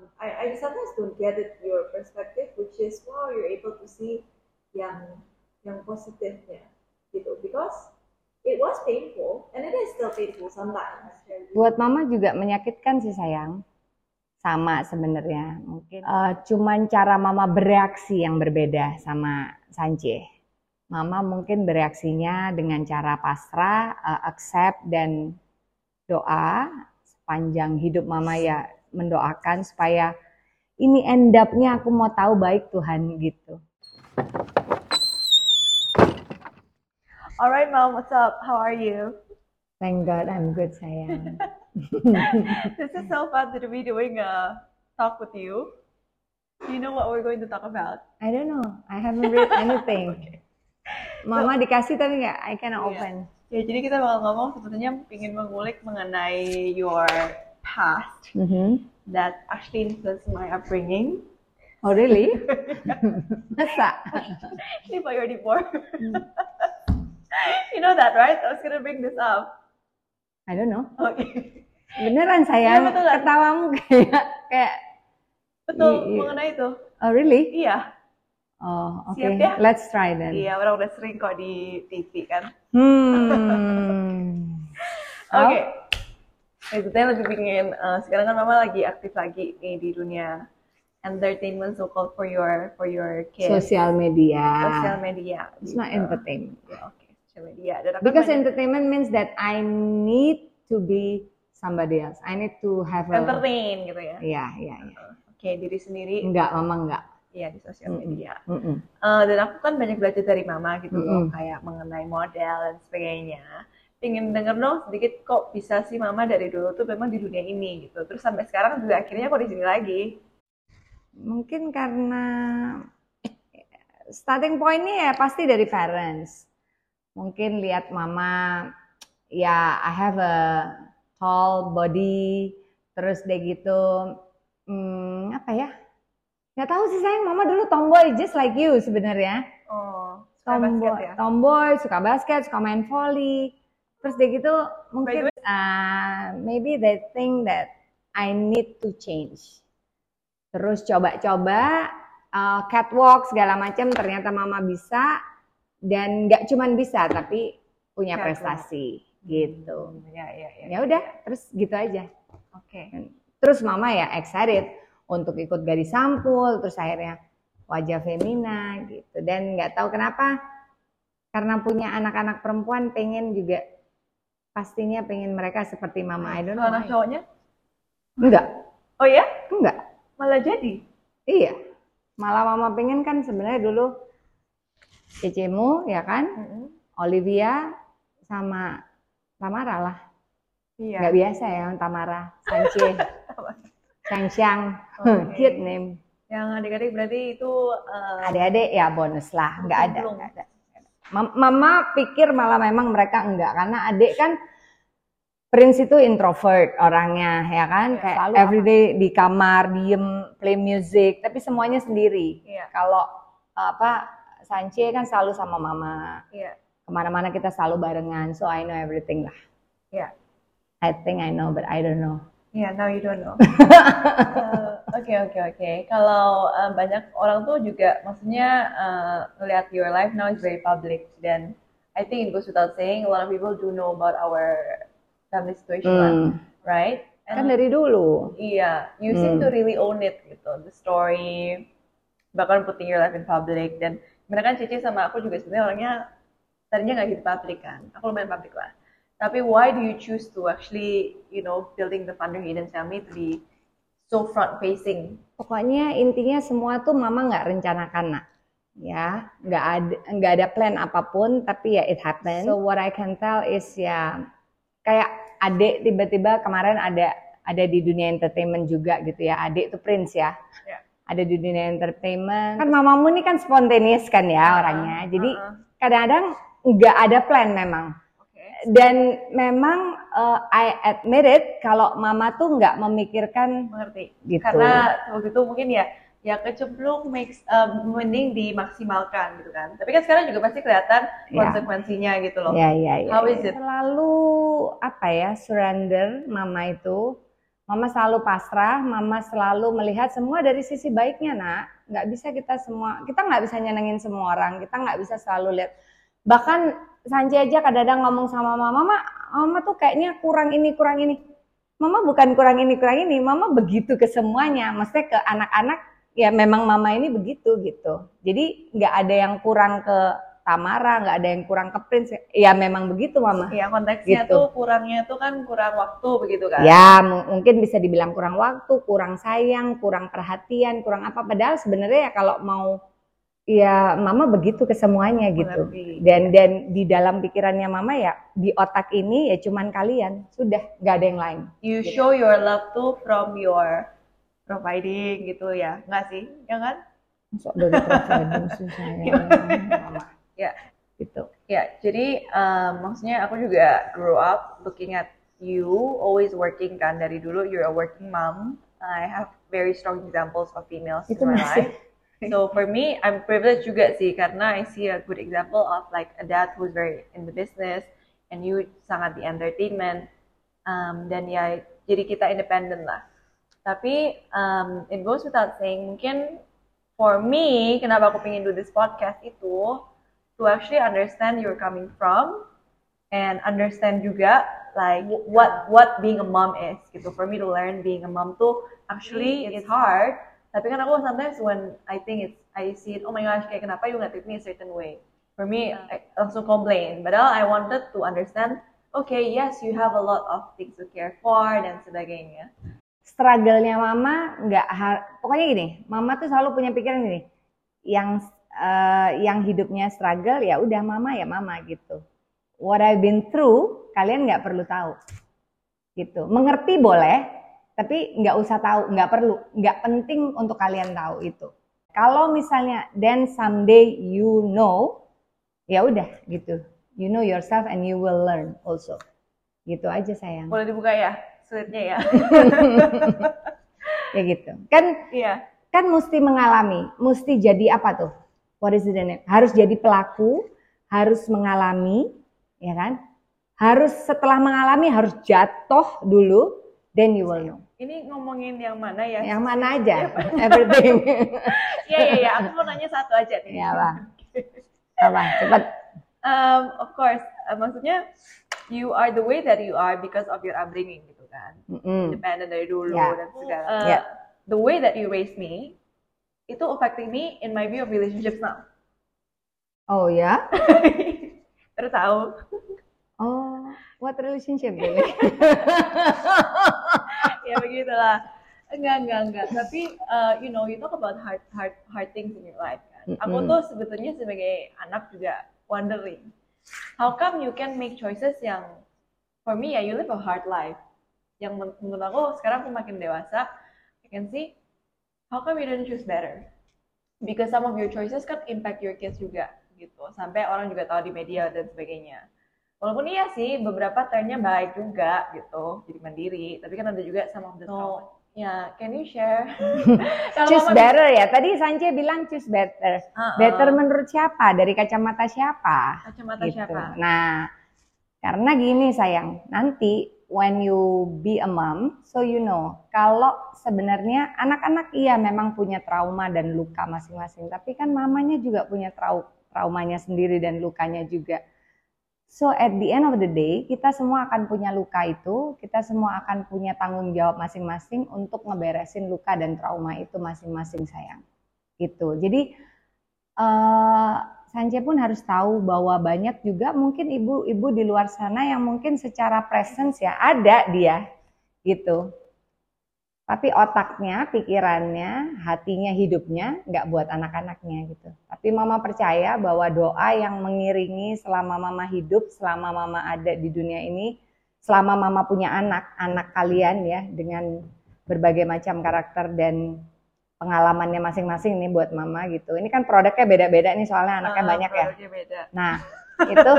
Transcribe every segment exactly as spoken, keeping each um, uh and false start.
I, I sometimes don't get it your perspective, which is wow, you're able to see yang yang positifnya gitu, because it was painful and it is still painful sometimes. Buat mama juga menyakitkan sih sayang, sama sebenarnya mungkin uh, cuman cara mama bereaksi yang berbeda sama Sanche. Mama mungkin bereaksinya dengan cara pasrah, uh, accept dan doa. Sepanjang hidup mama ya mendoakan supaya ini end up-nya aku mau tahu baik Tuhan gitu. Alright mom, what's up? How are you? Thank God I'm good sayang. This is so fun to be doing a talk with you. Do you know what we're going to talk about? I don't know. I haven't read anything. Okay. Mama so, dikasih tapi nggak, I cannot yeah. open. Ya, jadi kita bakal ngomong sebetulnya ingin mengulik mengenai your past mm-hmm. that actually influenced my upbringing. Oh really? Masa? Ini priority four. You know that, right? I was gonna bring this up. I don't know. Okay. Beneran sayang, ya, betul, kan? Ketawamu kayak kayak. Betul, mengenai itu. Oh really? Iya. Oh oke. Okay. Ya? Let's try then. Iya, orang udah sering kok di T V kan. Hmm. Oke. Okay. Maksudnya lebih pengen, uh, sekarang kan mama lagi aktif lagi nih di dunia entertainment, so called for your for your kids. Sosial media. Sosial media. It's gitu. not entertainment. Yeah, okay, sosial media. Dan because banyak... entertainment means that I need to be somebody else. I need to have a... entertain gitu ya. Iya, iya, iya. Oke, okay, diri sendiri. Enggak, mama enggak. Iya, di sosial media. Mm -mm. Uh, dan aku kan banyak belajar dari mama gitu mm -mm. loh, kayak mengenai model dan sebagainya. Pengen denger dong sedikit kok bisa sih mama dari dulu tuh memang di dunia ini gitu. Terus sampai sekarang juga akhirnya kok di sini lagi. Mungkin karena starting point-nya ya pasti dari parents. Mungkin lihat mama, ya I have a tall body, terus deh gitu, hmm, apa ya? Gak tahu sih sayang, mama dulu tomboy just like you sebenarnya. Oh, tomboy, basket ya? tomboy, suka basket, suka main volley. Terus deh gitu mungkin uh, maybe they think that I need to change. Terus coba-coba uh, catwalk segala macam, ternyata mama bisa dan nggak cuman bisa tapi punya catwalk. Prestasi gitu. Hmm, ya ya ya. Ya udah, terus gitu aja. Oke. Okay. Terus mama ya excited untuk ikut Gadis Sampul, terus akhirnya Wajah Femina gitu. Dan nggak tahu kenapa karena punya anak-anak perempuan pengen juga pastinya pengen mereka seperti mama. I don't know. Anak cowoknya? Enggak. Oh ya? Enggak. Malah jadi? Iya. Malah mama pengen kan sebenarnya dulu Cecemu ya kan, mm-hmm. Olivia sama Tamara lah. Iya. Nggak biasa ya Tamara, Sanche, Changxiang, okay. Cute name. Yang adik-adik berarti itu uh, adik-adik ya bonus lah, nggak ada, nggak ada. Mama pikir malah memang mereka enggak, karena adik kan Prince itu introvert orangnya ya kan, ya, kayak everyday apa? Di kamar diem play music tapi semuanya sendiri. Ya. Kalau apa Sanche kan selalu sama mama, ya. Kemana-mana kita selalu barengan, so I know everything lah. Ya. I think I know but I don't know. Ya, yeah, now you don't know. Oke oke oke. Kalau um, banyak orang tuh juga, maksudnya uh, ngeliat your life now is very public, dan I think it goes without saying a lot of people do know about our family situation, hmm. right? And kan dari dulu. Iya, you seem hmm. to really own it gitu, the story, bahkan putting your life in public. Dan sebenarnya kan Cici sama aku juga sebenarnya orangnya tadinya nggak gitu public kan, aku lumayan public lah. Tapi why do you choose to actually, you know, building the Thunder Hidden Family to be so front facing? Pokoknya intinya semua tuh mama nggak rencanakan nak, ya, nggak ada nggak ada plan apapun, tapi ya it happen. So what I can tell is ya kayak adik tiba-tiba kemarin ada ada di dunia entertainment juga gitu ya, adik tuh Prince ya, yeah. Ada di dunia entertainment. Kan mamamu ini kan spontaneous kan ya uh-huh. orangnya, jadi uh-huh. kadang-kadang nggak ada plan memang. Dan memang uh, I admit it kalau mama tuh nggak memikirkan. Mengerti. Gitu. Karena waktu itu mungkin ya ya kecemplung makes uh, mending dimaksimalkan gitu kan. Tapi kan sekarang juga pasti kelihatan konsekuensinya yeah. gitu loh. Iya yeah, iya yeah, iya. How is it? Selalu apa ya surrender mama itu Mama selalu pasrah, mama selalu melihat semua dari sisi baiknya, nak. Nggak bisa kita semua, kita nggak bisa nyenengin semua orang, kita nggak bisa selalu lihat. Bahkan Sanci aja kadang-kadang ngomong sama mama, mama, mama tuh kayaknya kurang ini, kurang ini. Mama bukan kurang ini, kurang ini, mama begitu ke semuanya. Maksudnya ke anak-anak, ya memang mama ini begitu gitu. Jadi nggak ada yang kurang ke Tamara, nggak ada yang kurang ke Prince, ya memang begitu mama. Iya, konteksnya gitu. tuh kurangnya tuh kan kurang waktu begitu kan? Ya mungkin bisa dibilang kurang waktu, kurang sayang, kurang perhatian, kurang apa. Padahal sebenarnya ya kalau mau, ya mama begitu ke semuanya gitu. Mengerti. Dan dan di dalam pikirannya mama ya di otak ini ya cuman kalian, sudah nggak ada yang lain. You gitu. show your love tuh from your providing gitu ya, nggak sih? Ya kan? Masuk dari providing sih sayang. Mama. Ya, gitu. Ya, jadi um, maksudnya aku juga grow up looking at you always working kan dari dulu. You're a working mom. I have very strong examples of females Itu in my masih. life. So for me, I'm privileged juga sih karena I see a good example of like a dad who's very in the business and you sangat di entertainment. Um, dan ya jadi kita independen lah. Tapi um, it goes without saying, mungkin for me, kenapa aku pengen do this podcast itu to actually understand you're coming from and understand juga like what what being a mom is gitu. For me to learn being a mom tuh actually it's hard. Tapi kan aku sometimes when I think it's I see it, oh my gosh, kayak kenapa you nge-treat me a certain way. For me, I langsung complain. Padahal I wanted to understand, okay, yes, you have a lot of things to care for dan sebagainya. Struggle-nya mama nggak, pokoknya gini, mama tuh selalu punya pikiran gini, yang uh, yang hidupnya struggle ya udah mama ya mama gitu. What I've been through kalian nggak perlu tahu, gitu. Mengerti boleh, tapi nggak usah tahu, nggak perlu, nggak penting untuk kalian tahu itu. Kalau misalnya then someday you know, ya udah gitu. You know yourself and you will learn also. Gitu aja sayang. Boleh dibuka ya, slide-nya ya. Ya gitu. Kan Iya. Kan mesti mengalami, mesti jadi apa tuh? What is the name? Harus jadi pelaku, harus mengalami, ya kan? Harus setelah mengalami harus jatuh dulu, then you will know. Ini ngomongin yang mana ya? Yang mana aja, everything. Iya iya iya, aku mau nanya satu aja nih. Iya Bang. Apa? Cepat. Um, of course, uh, maksudnya you are the way that you are because of your upbringing gitu kan, Mm-mm. independent dari dulu Yeah. dan segala. Uh, Yeah. The way that you raised me itu affecting me in my view of relationships now. Oh ya? Terus tahu? Oh, what relationship really? Ya begitulah. Enggak enggak enggak. Tapi uh, you know, you talk about hard hard hard things in your life kan. Mm-mm. Aku tuh sebetulnya sebagai anak juga wondering, how come you can make choices yang, for me ya, you live a hard life. Yang men- menurut aku sekarang aku makin dewasa, I can see, how come you didn't choose better? Because some of your choices kan impact your kids juga gitu. Sampai orang juga tahu di media dan sebagainya. Walaupun iya sih, beberapa turn-nya baik juga gitu, jadi mandiri. Tapi kan ada juga some of the trauma. Ya, can you share? Choose better ya. Tadi Sanche bilang choose better. Uh-uh. Better menurut siapa? Dari kacamata siapa? Kacamata Gitu. siapa? Nah, karena gini sayang, nanti when you be a mom, so you know, kalau sebenarnya anak-anak iya memang punya trauma dan luka masing-masing, tapi kan mamanya juga punya trau traumanya sendiri dan lukanya juga. So at the end of the day, kita semua akan punya luka itu, kita semua akan punya tanggung jawab masing-masing untuk ngeberesin luka dan trauma itu masing-masing sayang. Gitu. Jadi uh, Sanche pun harus tahu bahwa banyak juga mungkin ibu-ibu di luar sana yang mungkin secara presence ya ada dia gitu. Tapi otaknya, pikirannya, hatinya, hidupnya nggak buat anak-anaknya gitu. Tapi mama percaya bahwa doa yang mengiringi selama mama hidup, selama mama ada di dunia ini, selama mama punya anak, anak kalian ya dengan berbagai macam karakter dan pengalamannya masing-masing nih buat mama gitu. Ini kan produknya beda-beda nih soalnya anaknya uh, banyak ya. Beda. Nah itu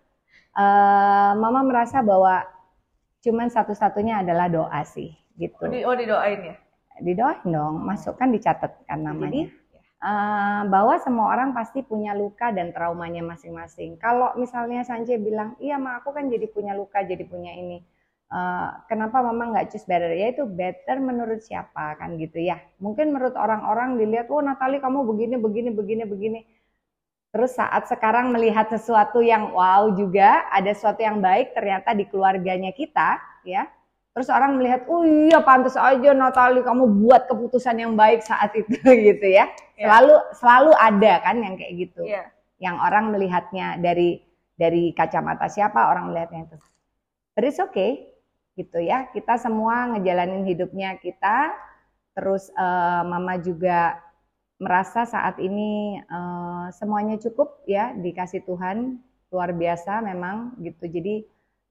uh, mama merasa bahwa cuman satu-satunya adalah doa sih. Gitu. Oh, di, oh didoain ya? Didoain dong, masuk kan dicatatkan namanya. Jadi, uh, bahwa semua orang pasti punya luka dan traumanya masing-masing. Kalau misalnya Sanche bilang, iya ma aku kan jadi punya luka, jadi punya ini. uh, kenapa mama nggak choose better? Ya itu better menurut siapa kan gitu ya. Mungkin menurut orang-orang dilihat, oh Natalie kamu begini, begini, begini, begini. Terus saat sekarang melihat sesuatu yang wow juga, ada sesuatu yang baik ternyata di keluarganya kita, ya. Terus orang melihat, oh iya pantas aja Natalie kamu buat keputusan yang baik saat itu gitu ya. Selalu yeah. selalu ada kan yang kayak gitu. Yeah. Yang orang melihatnya dari dari kacamata siapa, orang melihatnya itu. But it's okay gitu ya. Kita semua ngejalanin hidupnya kita. Terus uh, mama juga merasa saat ini uh, semuanya cukup ya dikasih Tuhan, luar biasa memang gitu. Jadi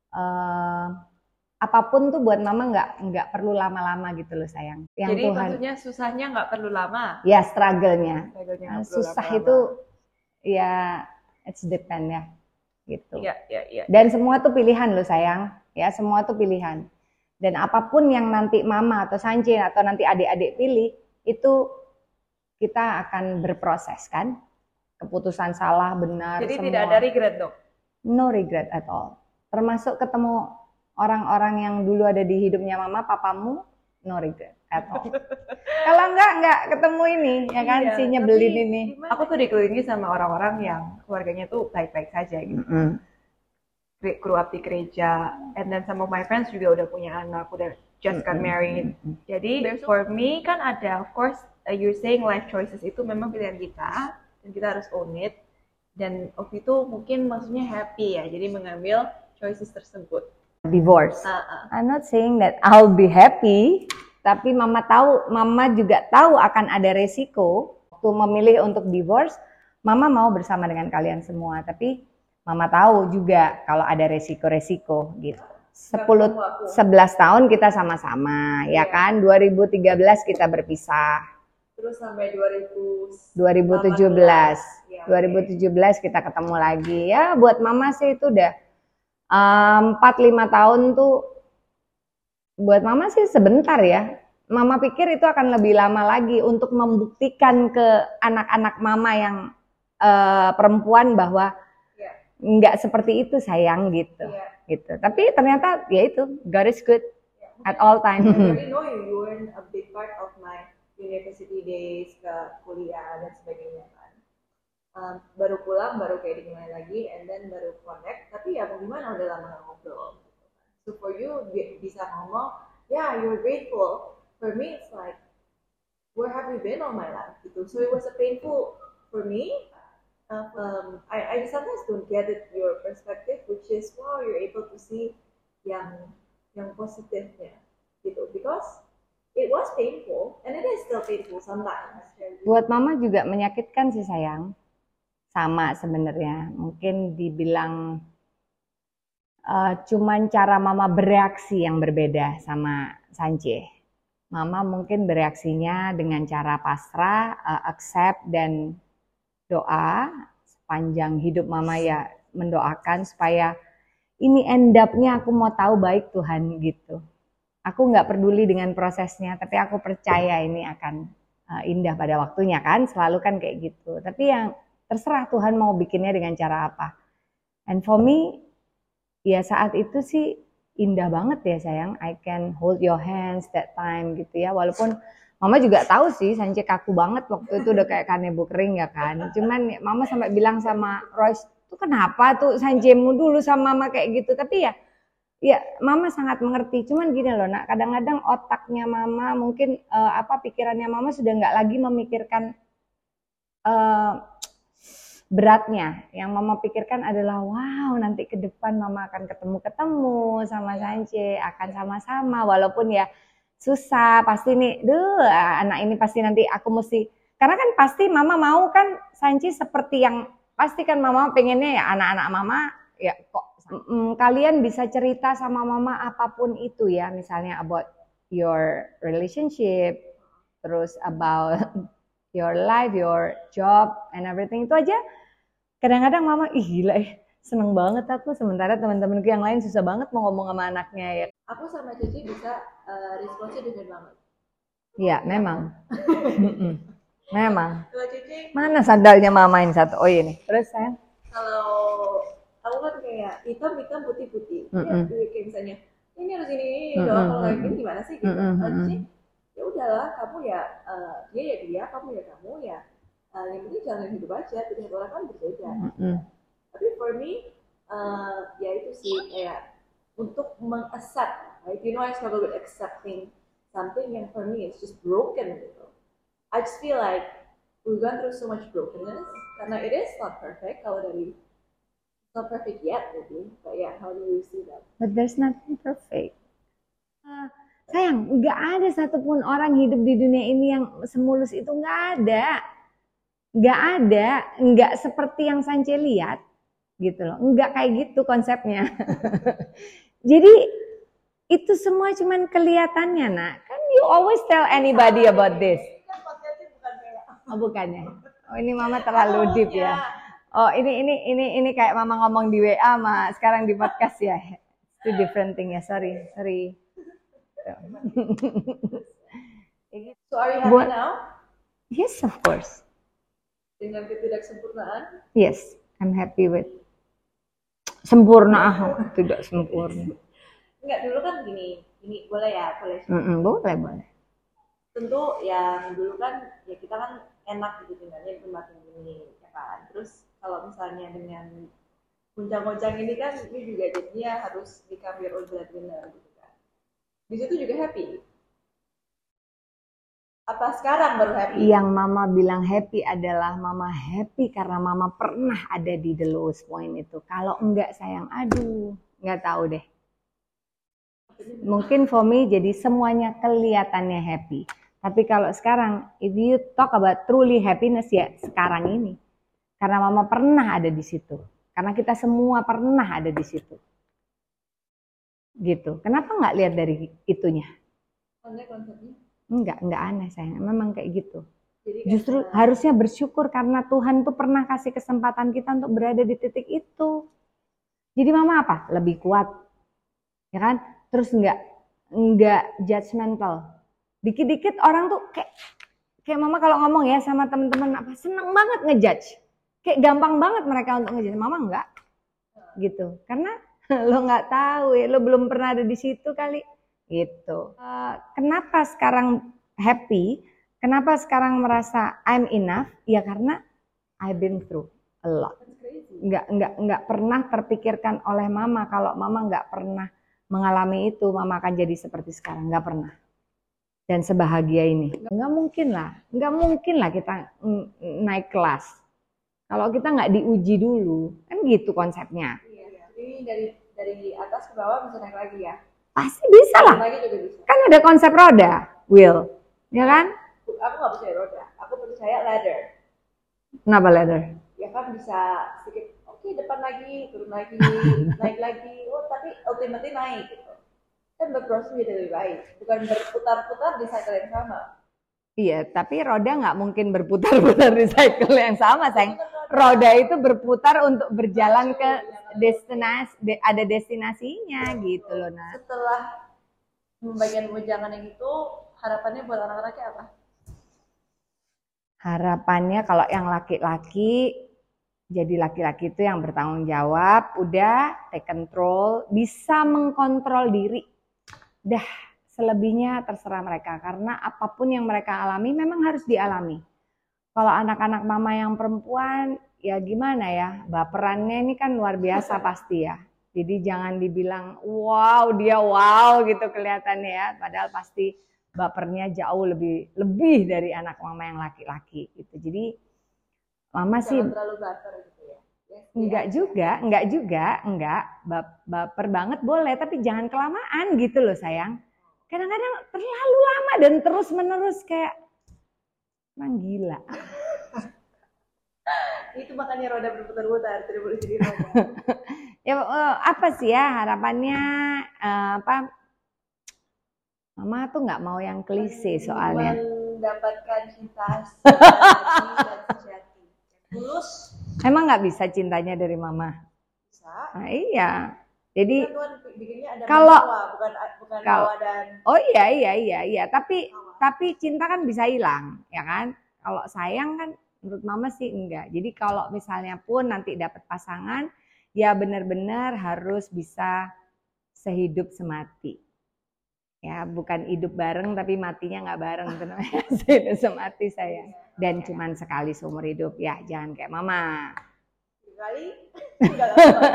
uh, apapun tuh buat mama nggak nggak perlu lama-lama gitu loh sayang. Yang Jadi Tuhan, maksudnya susahnya nggak perlu lama? Ya struggle-nya. Struggle-nya susah lama-lama. Itu ya it's depend ya gitu. Iya iya iya. Dan semua tuh pilihan loh sayang, ya semua tuh pilihan. Dan apapun yang nanti mama atau Sanci atau nanti adik-adik pilih itu kita akan berproses kan. Keputusan salah benar. Jadi semua. Tidak ada regret dong? No regret at all. Termasuk ketemu orang-orang yang dulu ada di hidupnya mama, papamu, no regret at all. Kalau enggak, enggak ketemu ini, ya kan, iya, si nyebelin ini. Aku tuh dikelilingi sama orang-orang yang keluarganya tuh baik-baik saja gitu. Mm-hmm. Grew up di gereja, and then some of my friends juga udah punya anak, udah just got married. Mm-hmm. Jadi for me kan ada, of course, uh, you're saying life choices itu memang pilihan kita, dan kita harus own it. Dan waktu itu mungkin maksudnya happy ya, jadi mengambil choices tersebut. Divorce. Uh-uh. I'm not saying that I'll be happy, tapi mama tahu, mama juga tahu akan ada resiko waktu memilih untuk divorce. Mama mau bersama dengan kalian semua, tapi mama tahu juga kalau ada resiko-resiko gitu. sepuluh sebelas tahun kita sama-sama, ya, ya kan? dua ribu tiga belas kita berpisah. Terus sampai dua ribu dua ribu tujuh belas. Ya, dua ribu tujuh belas okay. Kita ketemu lagi. Ya, buat mama sih itu udah empat lima tahun tuh buat mama sih sebentar ya. Mama pikir itu akan lebih lama lagi untuk membuktikan ke anak-anak mama yang uh, perempuan bahwa yeah. nggak seperti itu sayang gitu, yeah. gitu. Tapi ternyata ya itu God is good yeah. at all time. I really know you, you were a big part of my university days, ke kuliah dan sebagainya kan. Um, baru pulang, baru kayak dimulai lagi, and then baru connect. Tapi ya mau gimana, udah lama gak ngobrol. So for you bisa ngomong, yeah, you're grateful. For me, it's like, where have you been all my life? Gitu. So it was a painful for me. Uh, um, I, I sometimes don't get it, your perspective, which is wow, you're able to see yang yang positifnya, gitu. Because it was painful, and it is still painful sometimes. Buat mama juga menyakitkan sih sayang. Sama sebenarnya, mungkin dibilang uh, cuman cara mama bereaksi yang berbeda sama Sanci. Mama mungkin bereaksinya dengan cara pasrah, uh, accept dan doa. Sepanjang hidup mama ya mendoakan supaya ini end up-nya aku mau tahu baik Tuhan gitu. Aku nggak peduli dengan prosesnya, tapi aku percaya ini akan uh, indah pada waktunya kan, selalu kan kayak gitu. Tapi yang terserah Tuhan mau bikinnya dengan cara apa. And for me, ya saat itu sih indah banget ya sayang. I can hold your hands that time gitu ya. Walaupun mama juga tahu sih Sanci kaku banget waktu itu udah kayak kanebo kering ya kan. Cuman mama sampai bilang sama Royce, tuh kenapa tuh Sancimu dulu sama mama kayak gitu. Tapi ya, ya mama sangat mengerti. Cuman gini loh nak, kadang-kadang otaknya mama mungkin uh, apa pikirannya mama sudah nggak lagi memikirkan uh, beratnya. Yang mama pikirkan adalah wow nanti ke depan mama akan ketemu-ketemu sama Sanci, akan sama-sama walaupun ya susah pasti nih, duh anak ini pasti nanti aku mesti, karena kan pasti mama mau kan Sanci seperti yang pasti kan mama pengennya ya anak-anak mama ya kok mm, kalian bisa cerita sama mama apapun itu ya, misalnya about your relationship, terus about your life, your job and everything itu aja. Kadang-kadang mama, ih gila eh, seneng banget aku, sementara teman-temanku yang lain susah banget mau ngomong sama anaknya ya. Aku sama Cici bisa uh, responsnya dengan banget. Iya, memang. Memang. Kalau Cici, mana sandalnya mama ini satu? Oh ini. Terus sayang? Kalau aku kan kayak hitam-hitam putih-putih. Mm -mm. Ya, kayak misalnya, ini harus ini, ini mm-hmm. doang, kalau kayak gini gimana sih gitu. Mm-hmm. Jadi ya udahlah, kamu ya uh, dia ya dia, kamu ya kamu ya. Uh, yang penting jangan hidup aja, pilihan orang kan berbeda. Mm-hmm. Tapi for me, uh, ya itu sih kayak untuk meng-accept, right? You know I struggle with accepting something yang for me it's just broken gitu. I just feel like we've gone through so much brokenness karena it is not perfect kalau dari not perfect yet maybe, but yeah, how do you see that? But there's nothing perfect. Uh, sayang, nggak ada satupun orang hidup di dunia ini yang semulus itu, nggak ada, nggak ada, nggak seperti yang Sance lihat, gitu loh, nggak kayak gitu konsepnya. Jadi itu semua cuman kelihatannya, nak. Kan you always tell anybody about this. Oh bukannya. Oh ini mama terlalu deep ya. Oh ini ini ini ini kayak mama ngomong di W A sama sekarang di podcast ya. Itu different thing ya. Sorry, sorry. So are you happy But, now? Yes, of course. Dengan ketidaksempurnaan? Yes, I'm happy with. Sempurna, tidak sempurna. Enggak, dulu kan gini, ini boleh ya, boleh. Mm-mm, boleh, boleh. Tentu yang dulu kan, ya kita kan enak gitu tinggalnya di tempat ini, ya kan. Terus kalau misalnya dengan gonjang-gonjang ini kan, ini juga jadinya harus become your own breadwinner gitu kan. Di situ juga happy. Apa sekarang baru happy? Yang mama bilang happy adalah mama happy karena mama pernah ada di the lowest point itu. Kalau enggak sayang, aduh, enggak tahu deh. Mungkin for me jadi semuanya kelihatannya happy. Tapi kalau sekarang, if you talk about truly happiness ya sekarang ini. Karena mama pernah ada di situ. Karena kita semua pernah ada di situ. Gitu. Kenapa nggak lihat dari itunya? Aneh konsepnya? Enggak, enggak aneh sayang. Memang kayak gitu. Jadi justru karena... harusnya bersyukur karena Tuhan tuh pernah kasih kesempatan kita untuk berada di titik itu. Jadi mama apa? Lebih kuat. Ya kan? Terus enggak enggak judgmental. Dikit-dikit orang tuh kayak kayak mama kalau ngomong ya sama teman-teman apa seneng banget ngejudge. Kayak gampang banget mereka untuk ngejudge. Mama enggak. Gitu. Karena lo enggak tahu ya, lo belum pernah ada di situ kali. Gitu. Uh, kenapa sekarang happy? Kenapa sekarang merasa I'm enough? Ya karena I've been through a lot. Enggak enggak enggak pernah terpikirkan oleh mama kalau mama enggak pernah mengalami itu, mama akan jadi seperti sekarang. Enggak pernah. Dan sebahagia ini. Enggak mungkin lah. Enggak mungkin lah kita naik kelas. Kalau kita enggak diuji dulu. Kan gitu konsepnya. Iya, ini dari dari atas ke bawah bisa naik lagi ya. Pasti bisa lah. Kan ada konsep roda, Will. Ya kan? Aku nggak percaya roda. Aku percaya ladder. Kenapa ladder? Ya kan bisa sedikit, oke okay, depan lagi, turun lagi, naik lagi. Oh tapi ultimately naik gitu. Kan berproses jadi lebih baik. Bukan berputar-putar di cycle yang sama. Iya, tapi roda nggak mungkin berputar-putar di cycle yang sama, sayang. Roda itu berputar untuk berjalan ke destinasi, de, ada destinasinya gitu loh, Nak. Setelah pembagian wejangan yang itu, harapannya buat anak-anaknya apa? Harapannya kalau yang laki-laki, jadi laki-laki itu yang bertanggung jawab, udah take control, bisa mengkontrol diri. Dah, selebihnya terserah mereka. Karena apapun yang mereka alami memang harus dialami. Kalau anak-anak mama yang perempuan, ya gimana ya, baperannya ini kan luar biasa pasti ya. Jadi jangan dibilang, wow dia wow gitu kelihatannya ya. Padahal pasti bapernya jauh lebih lebih dari anak mama yang laki-laki gitu. Jadi mama jangan sih terlalu baper gitu ya. Ya, enggak ya. juga, enggak juga, enggak baper banget boleh, tapi jangan kelamaan gitu loh sayang. Kadang-kadang terlalu lama dan terus menerus kayak emang gila. Itu makanya roda berputar-putar, tidak boleh jadi roda. Ya apa sih ya harapannya uh, apa? Mama tuh nggak mau yang klise soalnya. Mendapatkan cinta sejati dan sejati. Tulus. Emang nggak bisa cintanya dari mama? Bisa. Nah, iya. Jadi ada kalau masalah, bukan bukan kalau, dan oh iya iya iya iya tapi masalah. Tapi cinta kan bisa hilang ya kan. Kalau sayang kan menurut mama sih enggak. Jadi kalau misalnya pun nanti dapat pasangan ya benar-benar harus bisa sehidup semati Ya, bukan hidup bareng tapi matinya nggak bareng, itu namanya sinus mati saya. Dan cuman sekali seumur hidup, ya jangan kayak mama. Sekali? Enggak lama.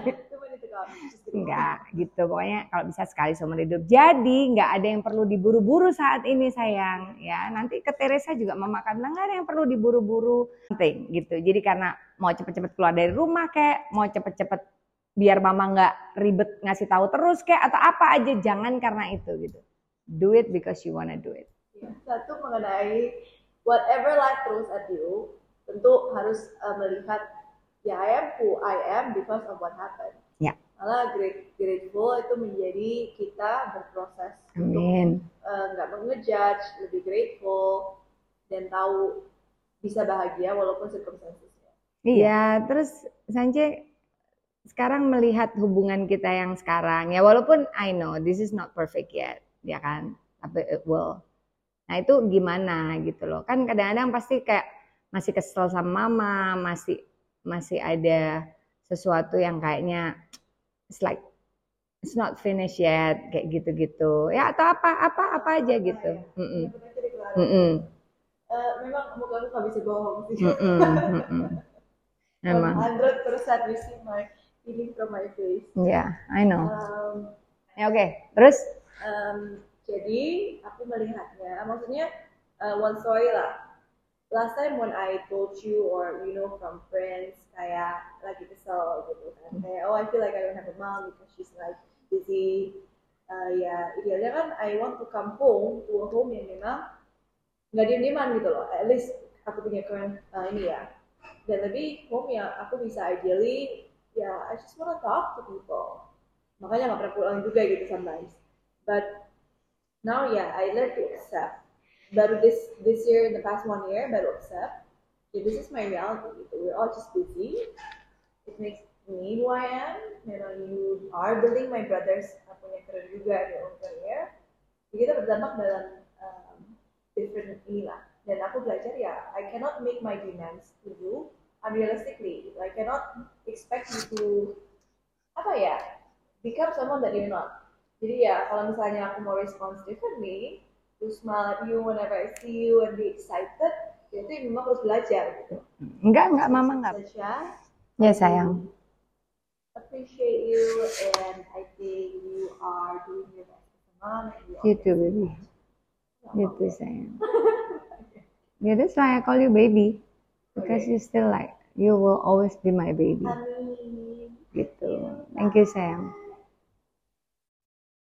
Enggak, gitu. Pokoknya kalau bisa sekali seumur hidup. Jadi nggak ada yang perlu diburu-buru saat ini sayang. Ya, nanti ke Teresa juga mama akan bilang nggak ada yang perlu diburu-buru. Penting gitu. Jadi karena mau cepet-cepet keluar dari rumah kayak, mau cepet-cepet biar mama nggak ribet ngasih tahu terus kayak atau apa aja, jangan karena itu gitu. Do it because you wanna do it. Ya, satu mengenai whatever life throws at you, tentu harus uh, melihat ya I am who I am because of what happened. Ya. Malah great, grateful itu menjadi kita berproses. Amin. Untuk nggak uh, mengejudge, lebih grateful dan tahu bisa bahagia walaupun circumstancesnya. Iya, terus Sanje sekarang melihat hubungan kita yang sekarang, ya walaupun I know this is not perfect yet, ya kan, tapi it will. Nah itu gimana gitu loh, kan kadang-kadang pasti kayak masih kesel sama mama, masih masih ada sesuatu yang kayaknya it's like it's not finished yet, kayak gitu-gitu, ya atau apa apa apa aja gitu. Mm -mm. Mm -mm. Uh, memang muka aku nggak bisa bohong sih. Mm -mm. Mm -mm. Memang. one hundred percent you see my feeling from my face. Yeah, I know. Um, ya oke, okay. Terus? Um, jadi aku melihatnya, maksudnya uh, one story lah. Last time when I told you or you know from friends kayak lagi kesel gitu kan, kayak oh I feel like I don't have a mom because she's like busy. Uh, ya idealnya kan I want to come home to a home yang memang nggak diem-dieman gitu loh. At least aku punya current uh, ini ya. Dan lebih home yang aku bisa ideally ya yeah, I just wanna talk to people. Makanya nggak pernah pulang juga gitu sometimes. But now yeah, I learned to accept. Baru this this year, in the past one year, baru accept. Yeah, this is my reality. Gitu. We're all just busy. It makes me who I am. You know, you are building my brothers. Aku punya career juga, their own career. Jadi kita berdampak dalam um, different inilah. Dan aku belajar ya, I cannot make my demands to you unrealistically. I cannot expect you to apa ya, become someone that you're not. Jadi ya, kalau misalnya aku mau respond differently, to smile at you whenever I see you and be excited, ya itu memang harus belajar gitu. Enggak, enggak, mama enggak. Saja, ya sayang. Appreciate you and I think you are doing your best as a mom. You too, baby. You too, sayang. Yeah, that's why I call you baby. Because okay. You still like, you will always be my baby. Amin. Gitu. Thank you sayang.